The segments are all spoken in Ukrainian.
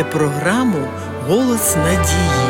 програму «Голос надії».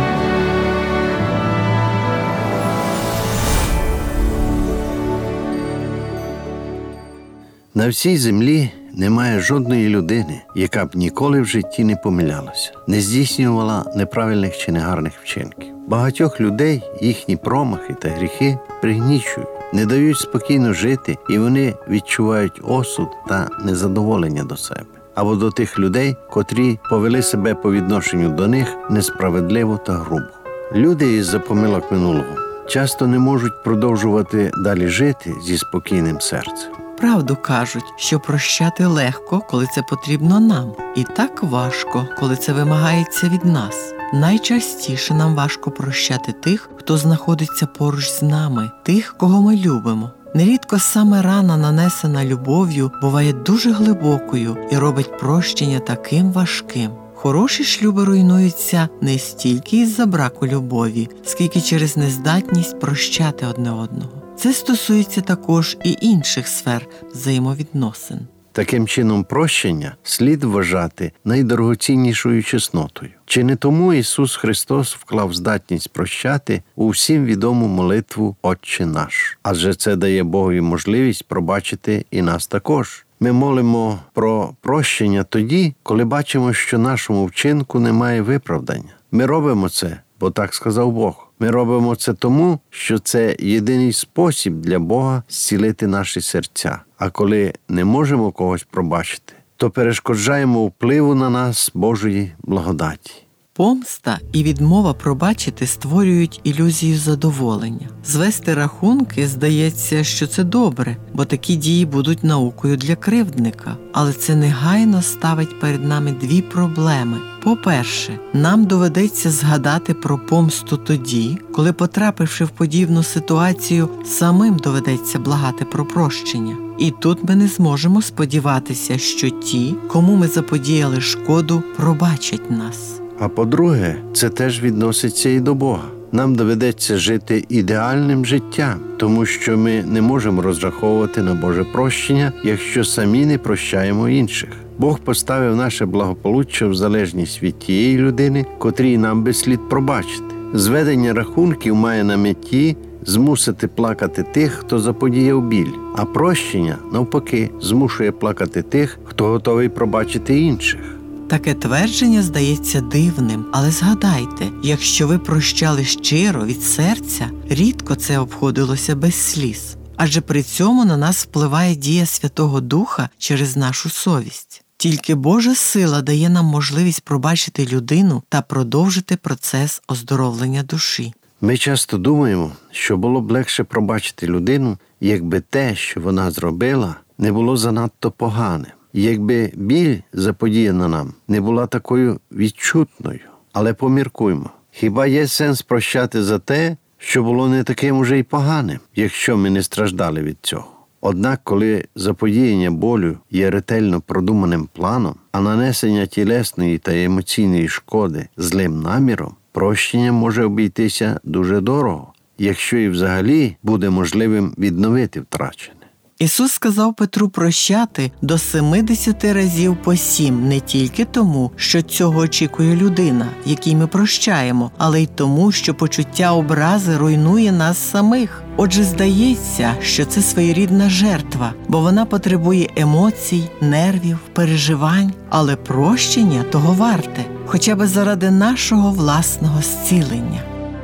На всій землі немає жодної людини, яка б ніколи в житті не помилялася, не здійснювала неправильних чи негарних вчинків. Багатьох людей їхні промахи та гріхи пригнічують, не дають спокійно жити, і вони відчувають осуд та незадоволення до себе. Або до тих людей, котрі повели себе по відношенню до них несправедливо та грубо. Люди із-за помилок минулого часто не можуть продовжувати далі жити зі спокійним серцем. Правду кажуть, що прощати легко, коли це потрібно нам, і так важко, коли це вимагається від нас. Найчастіше нам важко прощати тих, хто знаходиться поруч з нами, тих, кого ми любимо. Нерідко саме рана, нанесена любов'ю, буває дуже глибокою і робить прощення таким важким. Хороші шлюби руйнуються не стільки із-за браку любові, скільки через нездатність прощати одне одного. Це стосується також і інших сфер взаємовідносин. Таким чином, прощення слід вважати найдорогоціннішою чеснотою. Чи не тому Ісус Христос вклав здатність прощати у всім відому молитву «Отче наш»? Адже це дає Богові можливість пробачити і нас також. Ми молимо про прощення тоді, коли бачимо, що нашому вчинку немає виправдання. Ми робимо це, бо так сказав Бог. Ми робимо це тому, що це єдиний спосіб для Бога зцілити наші серця. А коли не можемо когось пробачити, то перешкоджаємо впливу на нас Божої благодаті. Помста і відмова пробачити створюють ілюзію задоволення. Звести рахунки, здається, що це добре, бо такі дії будуть наукою для кривдника. Але це негайно ставить перед нами дві проблеми. По-перше, нам доведеться згадати про помсту тоді, коли, потрапивши в подібну ситуацію, самим доведеться благати про прощення. І тут ми не зможемо сподіватися, що ті, кому ми заподіяли шкоду, пробачать нас. А по-друге, це теж відноситься і до Бога. Нам доведеться жити ідеальним життям, тому що ми не можемо розраховувати на Боже прощення, якщо самі не прощаємо інших. Бог поставив наше благополуччя в залежність від тієї людини, котрій нам би слід пробачити. Зведення рахунків має на меті змусити плакати тих, хто заподіяв біль, а прощення, навпаки, змушує плакати тих, хто готовий пробачити інших. Таке твердження здається дивним, але згадайте, якщо ви прощали щиро, від серця, рідко це обходилося без сліз. Адже при цьому на нас впливає дія Святого Духа через нашу совість. Тільки Божа сила дає нам можливість пробачити людину та продовжити процес оздоровлення душі. Ми часто думаємо, що було б легше пробачити людину, якби те, що вона зробила, не було занадто поганим. Якби біль, заподіяна нам, не була такою відчутною. Але поміркуймо, хіба є сенс прощати за те, що було не таким уже й поганим, якщо ми не страждали від цього? Однак, коли заподіяння болю є ретельно продуманим планом, а нанесення тілесної та емоційної шкоди злим наміром, прощення може обійтися дуже дорого, якщо і взагалі буде можливим відновити втрачене. Ісус сказав Петру прощати до 70 разів по 7 не тільки тому, що цього очікує людина, якій ми прощаємо, але й тому, що почуття образи руйнує нас самих. Отже, здається, що це своєрідна жертва, бо вона потребує емоцій, нервів, переживань, але прощення того варте, хоча б заради нашого власного зцілення.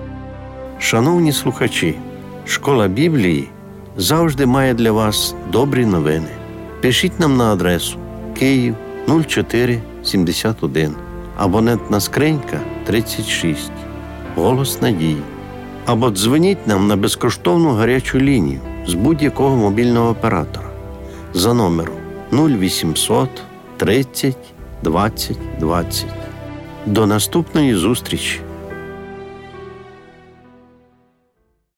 Шановні слухачі, Школа Біблії завжди має для вас добрі новини. Пишіть нам на адресу Київ 0471, абонентна скринька 36, Голос надії. Або дзвоніть нам на безкоштовну гарячу лінію з будь-якого мобільного оператора за номером 0800 30 20 20. До наступної зустрічі!